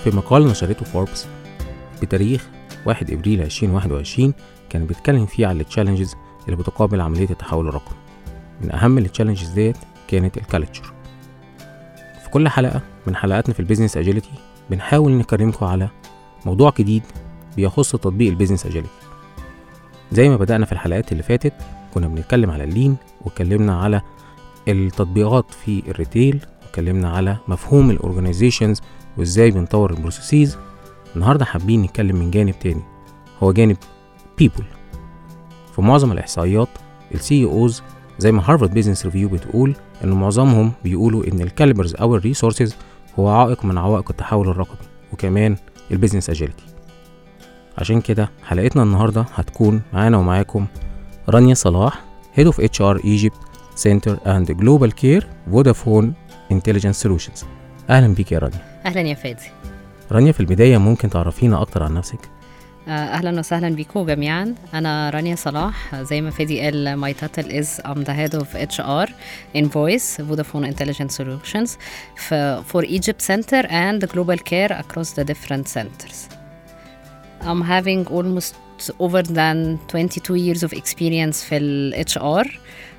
في مقال نشرته فوربس بتاريخ 1 ابريل 2021 كان بيتكلم فيه على التشالنجز اللي بتقابل عملية التحول الرقمي. من اهم التشالنجز ديت كانت الكالتشر. في كل حلقة من حلقاتنا في البيزنس اجيليتي بنحاول نكرمكم على موضوع جديد بيخص تطبيق البيزنس اجيليتي. زي ما بدأنا في الحلقات اللي فاتت كنا بنتكلم على اللين، واتكلمنا على التطبيقات في الريتيل، واتكلمنا على مفهوم الاورجانيزيشنز وازاي بنطور البروسيسز. النهارده حابين نتكلم من جانب تاني، هو جانب people. في معظم الاحصائيات الCEOs زي ما هارفارد بيزنس ريفيو بتقول ان معظمهم بيقولوا ان الكاليبرز او الريسورسز هو عائق من عوائق التحول الرقمي وكمان البيزنس اجيليتي. عشان كده حلقتنا النهارده هتكون معانا ومعاكم رانيا صلاح Head of HR Egypt Center and Global Care Vodafone Intelligence Solutions. اهلا بيك يا رانيا. اهلا يا فادي. رانيا، في البدايه ممكن تعرفينا اكتر عن نفسك؟ اهلا وسهلا بيكم جميعا. انا رانيا صلاح، زي ما فادي قال my title is I'm the head of HR in Voice Vodafone Intelligence Solutions for Egypt Center and Global Care across the different centers. I'm having almost over than 22 years of experience في ال HR,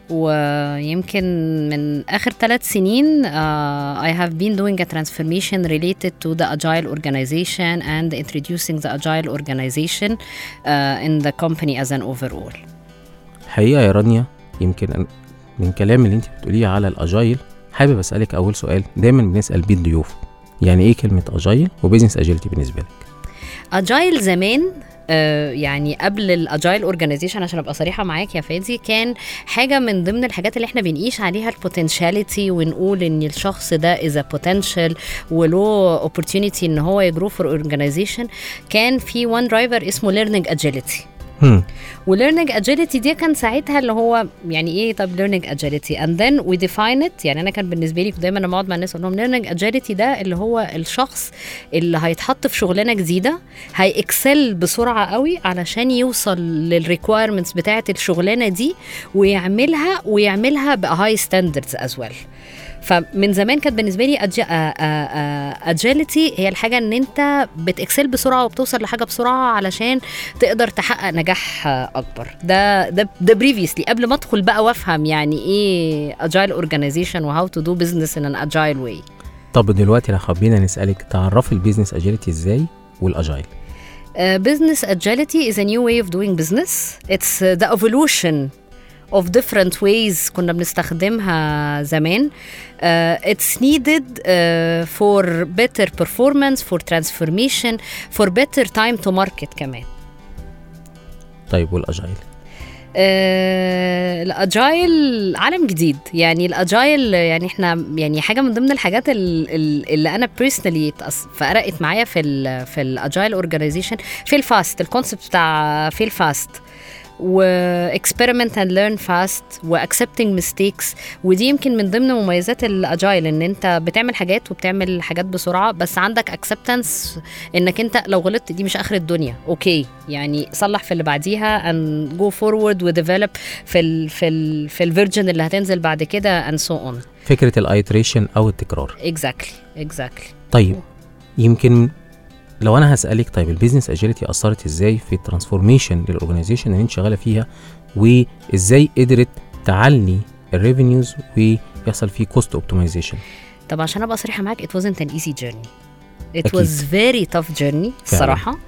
ويمكن من آخر 3 سنين I have been doing a transformation related to the agile organization and introducing the agile organization in the company as an overall. حقيقة يا رانيا، يمكن من كلام اللي انت بتقوليه على الاجايل حابب اسألك اول سؤال دايما بنسأل بيه الضيوف، يعني ايه كلمة اجايل وبيزنس اجيلتي بالنسبة لك؟ اجايل زمان يعني قبل الاجايل اورجانيزيشن، عشان ابقى صريحه معاك يا فادي، كان حاجه من ضمن الحاجات اللي احنا بنقيس عليها البوتنشاليتي، ونقول ان الشخص ده از بوتنشال ولو اوبورتيونيتي ان هو يجرو فور اورجانيزيشن. كان في وان درايفر اسمه ليرنينج اجيليتي. وليرنينج اجيليتي دي كان ساعتها اللي هو يعني ايه؟ طب ليرنينج اجيليتي اند ذن وي ديفاين ات. يعني انا كان بالنسبه لي دايما لما اقعد مع الناس اقول لهم ليرنينج اجيليتي ده اللي هو الشخص اللي هيتحط في شغلانه جديده هيكسل بسرعه قوي علشان يوصل للريكويرمنتس بتاعه الشغلانه دي ويعملها بهاي ستاندردز از ويل. فمن زمان كانت بالنسبه لي اجيليتي هي الحاجه ان انت بتكسل بسرعه وبتوصل لحاجه بسرعه علشان تقدر تحقق نجاح اكبر. ده بريفيسلي قبل ما ادخل بقى وافهم يعني ايه اجايل اورجانيزيشن وهاو تو دو بزنس ان ان اجايل واي. طب دلوقتي لو حابين نسالك تعرفي البيزنس اجيليتي ازاي والاجايل؟ business agility is a new way of doing business. It's the evolution of different ways كنا بنستخدمها زمان. It's needed for better performance, for transformation, for better time to market كمان. طيب والاجايل؟ الاجايل عالم جديد. يعني الاجايل يعني احنا يعني حاجه من ضمن الحاجات اللي انا بيرسونالي فرقت معايا في الاجايل اورجانيزيشن في الفاست. الكونسبت بتاع في الفاست و experiment and learn fast و accepting mistakes. ودي يمكن من ضمن مميزات الاجايل، ان انت بتعمل حاجات وبتعمل حاجات بسرعه، بس عندك acceptance انك انت لو غلطت دي مش اخر الدنيا، اوكي يعني صلح في اللي بعديها and go forward و develop في الفيرجن اللي هتنزل بعد كده and so on. فكره الايتريشن او التكرار. exactly. طيب يمكن لو انا هسألك، طيب البيزنس اجيليتي اثرت ازاي في الترانسفورميشن للاورجانيزيشن اللي انت شغاله فيها، وازاي قدرت تعلي الريفينيوز ويحصل فيه كوست اوبتمايزيشن؟ طب عشان ابقى صريحه معاك it wasn't an easy journey. It was very tough journey الصراحه.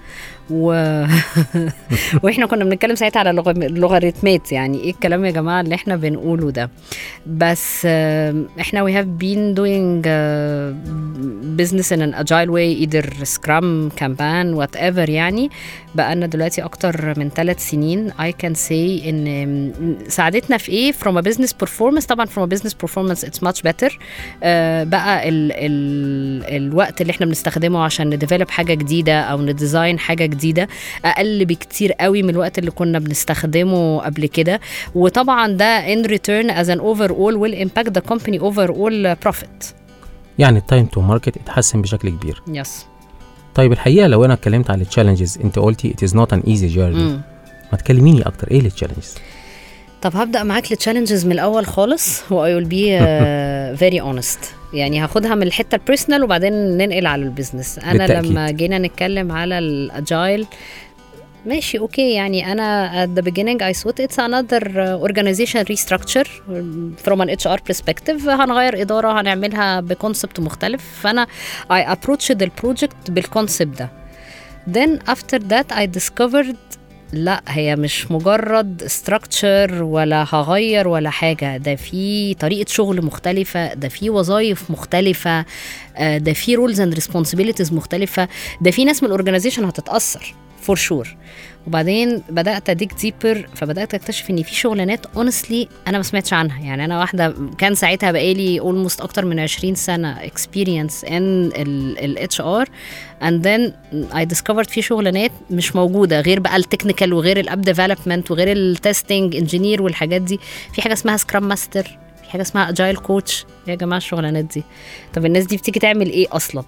واحنا كنا بنتكلم ساعتها على اللوغاريتمات، يعني ايه الكلام يا جماعه اللي احنا بنقوله ده؟ بس احنا we have been doing business in an agile way, either Scrum, Kanban, whatever. يعني بقالنا دلوقتي اكتر من 3 سنين. I can say ان ساعدتنا في ايه from a business performance. طبعا from a business performance it's much better. بقى الوقت اللي احنا بنستخدمه عشان نديفلوب حاجه جديده او نديزاين حاجه جديده اقل بكتير قوي من الوقت اللي كنا بنستخدمه قبل كده. وطبعا ده in return as an overall will impact the company overall profit. يعني التايم تو ماركت اتحسن بشكل كبير. يس. طيب الحقيقه لو انا اتكلمت على التشالنجز، انت قلتي it is not an easy journey. ما تكلميني اكتر، ايه التشالنجز؟ طب هبدأ معاك للتشالنجز من الأول خالص و I will be very honest. يعني هاخدها من الحتة البيرسونال وبعدين ننقل على البيزنس. أنا بالتأكيد. لما جينا نتكلم على الأجايل ماشي اوكي، يعني انا at the beginning I thought it's another organization restructure from an HR perspective. هنغير إدارة هنعملها بكونسبت مختلف، فأنا I approached the project بالكونسبت ده. Then after that I discovered لا، هي مش مجرد structure ولا هغير ولا حاجة، ده في طريقة شغل مختلفة، ده في وظائف مختلفة، ده في rules and responsibilities مختلفة، ده في ناس من الorganization هتتأثر for sure. وبعدين بدأت أديك deeper، فبدأت أكتشف إن في شغلانات honestly أنا ما سمعتش عنها. يعني أنا واحدة كان ساعتها بقالي almost أكتر من 20 سنة experience in ال HR and then I discovered في شغلانات مش موجودة غير بقى التكنيكال وغير الاب development وغير التستنج انجينير والحاجات دي. في حاجة اسمها سكرام ماستر، في حاجة اسمها اجايل كوتش. يا جماعة الشغلانات دي طب الناس دي بتيجي تعمل ايه أصلا؟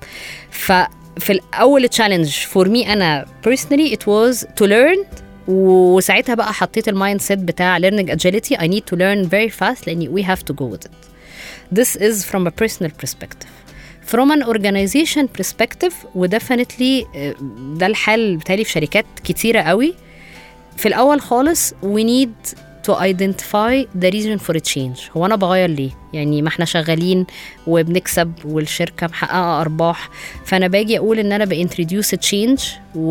في الأول challenge for me أنا personally it was to learn. وساعتها بقى حطيت المايند سيت بتاع learning agility. I need to learn very fast لأني we have to go with it. This is from a personal perspective. From an organization perspective وdefinitely ده الحال بتالي في شركات كتيرة قوي. في الأول خالص we need to identify the reason for a change. هو أنا بغير ليه؟ يعني ما احنا شغالين وبنكسب والشركة محققة أرباح، فأنا باجي أقول إن أنا بintroduce a change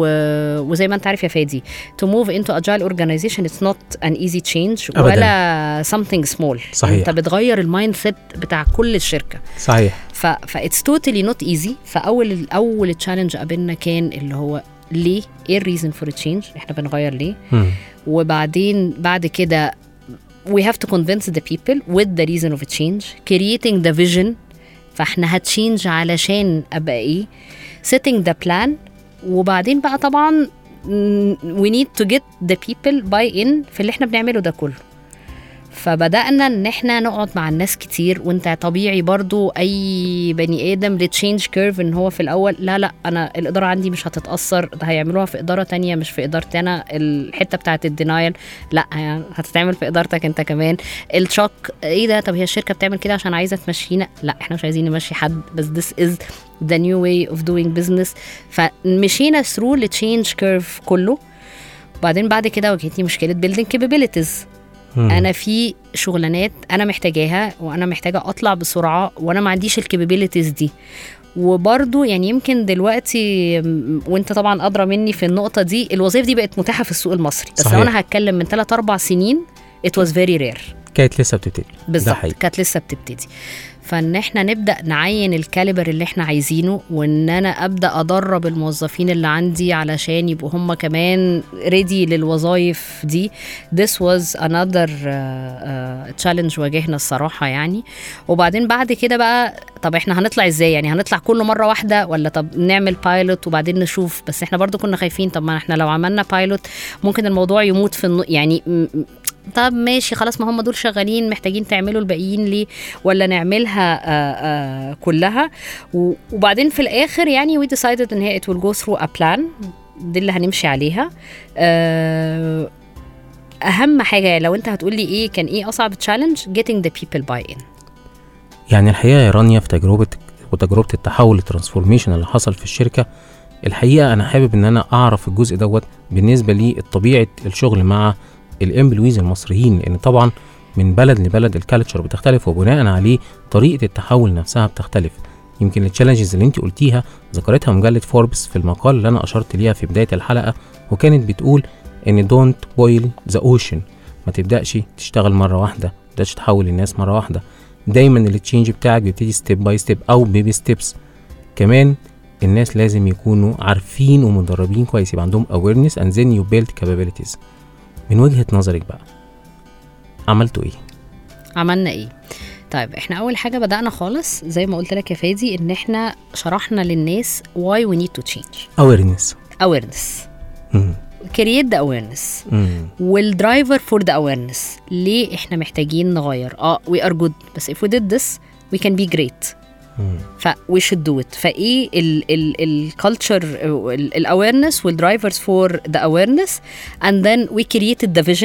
وزي ما أنت عارف يا فادي to move into agile organization it's not an easy change أبداً. ولا something small. صحيح. أنت بتغير المايند سيت بتاع كل الشركة. صحيح. it's totally not easy. فأول challenge قابلنا كان اللي هو ليه؟ ايه الريزن فور تشينج؟ احنا بنغير ليه؟ وبعدين بعد كده we have to convince the people with the reason of change, creating the vision. فاحنا هتشينج علشان ابقى ايه؟ setting the plan. وبعدين بقى طبعا we need to get the people buy in في اللي احنا بنعمله ده كله. فبدأنا ان احنا نقعد مع الناس كتير. وانت طبيعي برضو اي بني ادم لتشينج كيرف ان هو في الاول لا انا الاداره عندي مش هتتاثر، ده هيعملوها في اداره تانية مش في ادارتي انا. الحته بتاعه الدينايل لا يعني هتتعمل في ادارتك انت كمان. الشوك ايه ده؟ طب هي الشركه بتعمل كده عشان عايزه تمشينا؟ لا احنا مش عايزين نمشي حد، بس this is the new way of doing business. فمشينا through التشينج كيرف كله. وبعدين بعد كده واجهتني مشكله building capabilities. انا في شغلانات انا محتاجاها وانا محتاجه اطلع بسرعه وانا ما عنديش الكابابيلتيز دي. وبرضو يعني يمكن دلوقتي وانت طبعا ادرى مني في النقطه دي، الوظائف دي بقت متاحه في السوق المصري. بس لو انا هتكلم من 3-4 سنين it was very rare. كانت لسه بتبتدي. بالظبط كانت لسه بتبتدي. فان احنا نبدا نعين الكاليبر اللي احنا عايزينه، وان انا ابدا ادرب الموظفين اللي عندي علشان يبقوا هم كمان ريدي للوظائف دي. this was another challenge واجهنا الصراحه يعني. وبعدين بعد كده بقى طب احنا هنطلع ازاي؟ يعني هنطلع كله مره واحده ولا طب نعمل بايلوت وبعدين نشوف؟ بس احنا برضو كنا خايفين طب ما احنا لو عملنا بايلوت ممكن الموضوع يموت في يعني طب ماشي خلاص ما هم دول شغالين محتاجين تعملوا الباقيين ليه؟ ولا نعملها كلها. وبعدين في الآخر يعني we decided ان هي it will go through a plan. دي اللي هنمشي عليها. أهم حاجة لو انت هتقولي ايه كان ايه أصعب challenge getting the people buy in. يعني الحقيقة يا رانيا في تجربة التحول الترانسفورميشن اللي حصل في الشركة، الحقيقة أنا حابب ان أنا أعرف الجزء دوت بالنسبة لي طبيعة الشغل مع الامبلويز المصريين، لان طبعا من بلد لبلد الكالتشر بتختلف وبناء عليه طريقه التحول نفسها بتختلف. يمكن التشالنجز اللي انت قلتيها ذكرتها مجله فوربس في المقال اللي انا اشرت ليها في بدايه الحلقه، وكانت بتقول ان دونت بويل ذا اوشن. ما تبداش تشتغل مره واحده، ما تبداش تحول الناس مره واحده. دايما التشينج بتاعك بيبتدي ستيب باي ستيب او بيبي ستيبس. كمان الناس لازم يكونوا عارفين ومدربين كويس، يبقى عندهم awareness and then you build capabilities. من وجهة نظرك بقى عملتوا ايه؟ عملنا ايه؟ طيب احنا اول حاجة بدأنا خالص زي ما قلت لك يا فادي ان احنا شرحنا للناس why we need to change. awareness create the awareness والدرايفر for the awareness. ليه احنا محتاجين نغير؟ we are good بس if we did this we can be great. we should do it. فايه الculture awareness والdrivers for the awareness and then we created the vision.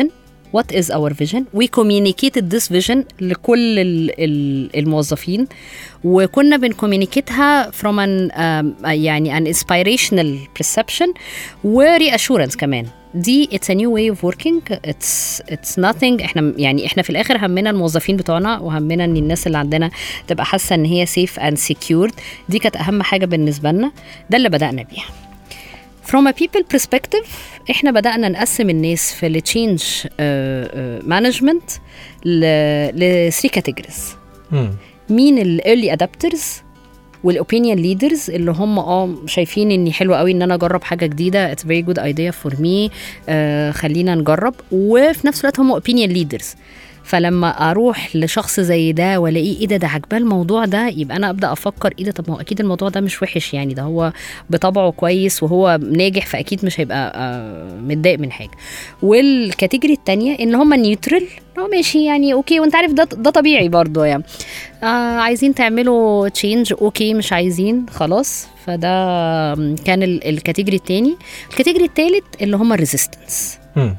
what is our vision. we communicated this vision لكل الموظفين, وكنا بنكومينيكيتها from يعني an inspirational perception و reassurance كمان. دي it's a new way of working. it's nothing. احنا في الاخر همنا الموظفين بتوعنا, وهمنا ان الناس اللي عندنا تبقى حاسه ان هي safe and secured. دي كانت اهم حاجه بالنسبه لنا, ده اللي بدأنا بيها. From a people perspective, احنا بدأنا نقسم الناس في ال change management ل 3 categories. مين ال early adapters وال opinion leaders اللي هم شايفين اني حلو قوي ان انا اجرب حاجة جديدة, it's very good idea for me, خلينا نجرب. وفي نفس الوقت هم opinion leaders. فلما اروح لشخص زي ده والاقيه ايه ده عجباه الموضوع ده, يبقى انا ابدا افكر ايه ده, طب ما هو اكيد الموضوع ده مش وحش, يعني ده هو بطبعه كويس وهو ناجح, فاكيد مش هيبقى متضايق من حاجه. والكاتيجوري الثانيه ان هم نيوترال, هو ماشي يعني اوكي, وانت عارف ده طبيعي برضو يعني, عايزين تعملوا تشينج اوكي, مش عايزين خلاص. فده كان الكاتيجوري الثاني. الكاتيجوري الثالث اللي هم الريزيستنس,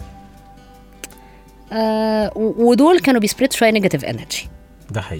ودول كانوا بيسبريد شويه نيجاتيف انرجي. ده حقيقي.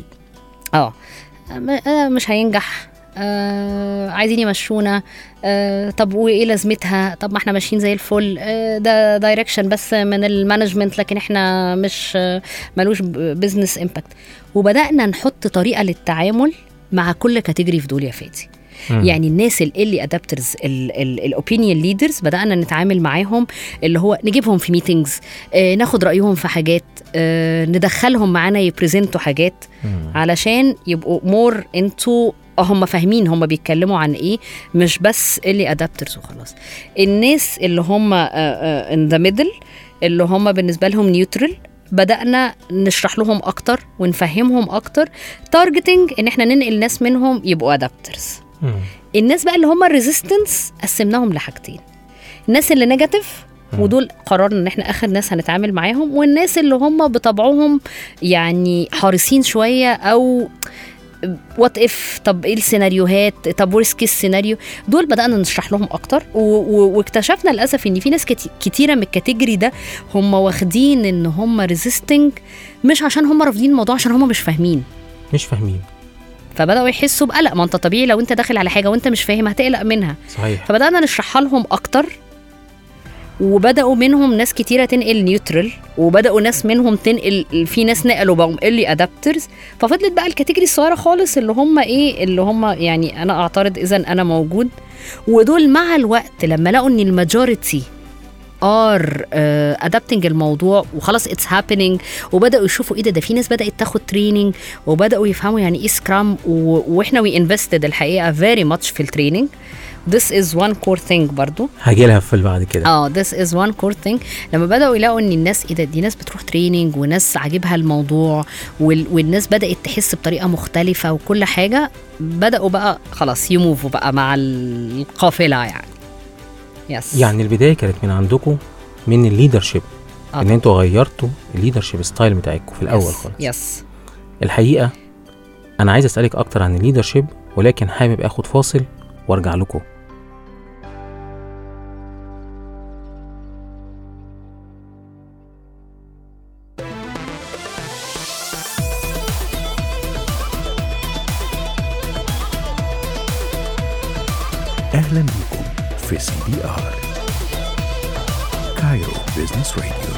مش هينجح, عايزين يمشونا, طب وايه لازمتها, طب ما احنا ماشيين زي الفل, ده دايركشن بس من المانجمنت, لكن احنا مش ملوش بزنس امباكت. وبدأنا نحط طريقه للتعامل مع كل كاتيجوري في دول يا فادي. يعني الناس اللي ادابترز الاوبينيون ليدرز بدأنا نتعامل معاهم, اللي هو نجيبهم في ميتينجز, ناخد رأيهم في حاجات, ندخلهم معانا يبريزنتوا حاجات علشان يبقوا مور انتو هم فاهمين هم بيتكلموا عن ايه, مش بس اللي ادابترز وخلاص. الناس اللي هم in the middle اللي هم بالنسبة لهم نيوترال, بدأنا نشرح لهم أكتر ونفهمهم أكتر, تارجتنج إن احنا ننقل ناس منهم يبقوا أدابترز. الناس بقى اللي هم الريزيستنس قسمناهم لحاجتين, الناس اللي نيجاتيف ودول قررنا ان احنا اخر ناس هنتعامل معاهم, والناس اللي هم بطبعهم يعني حارسين شوية او وات اف, طب ايه السيناريوهات, طب ورست كيس سيناريو, دول بدأنا نشرح لهم اكتر. واكتشفنا للاسف ان في ناس كتيرة من الكاتيجوري ده هم واخدين ان هم ريزيستنج, مش عشان هم رافضين الموضوع, عشان هم مش فاهمين. فبدأوا يحسوا بقلق, ما انت طبيعي لو انت داخل على حاجة وانت مش فاهم هتقلق منها. صحيح. فبدأنا نشرحها لهم اكتر, وبدأوا منهم ناس كتيرة تنقل نيوترال, وبدأوا ناس منهم تنقل, في ناس نقلوا بقوا اللي ادابترز. ففضلت بقى الكاتيجوري الصغيرة خالص اللي هم ايه, اللي هم يعني انا اعترض اذا انا موجود. ودول مع الوقت لما لقوا ان الماجوريتي adapting الموضوع وخلاص it's happening, وبدأوا يشوفوا ايه ده في ناس بدأت تاخد تريننج, وبدأوا يفهموا يعني ايه سكرام, واحنا we invested الحقيقة very much في التريننج. This is one core thing برضو هجيلها في بعد كده. this is one core thing. لما بدأوا يلاقوا ان الناس ايه ده, دي ناس بتروح تريننج وناس عاجبها الموضوع, والناس بدأت تحس بطريقة مختلفة وكل حاجة, بدأوا بقى خلاص يموفوا بقى مع القافلة يعني. يعني البداية كانت من عندكم من الليدرشيب, ان انتوا غيرتوا الليدرشيب ستايل بتاعكم في الاول خالص. الحقيقة انا عايز اسألك اكتر عن الليدرشيب, ولكن حابب اخد فاصل وارجع لكم. أهلا بكم في CBR كايرو بيزنس راديو.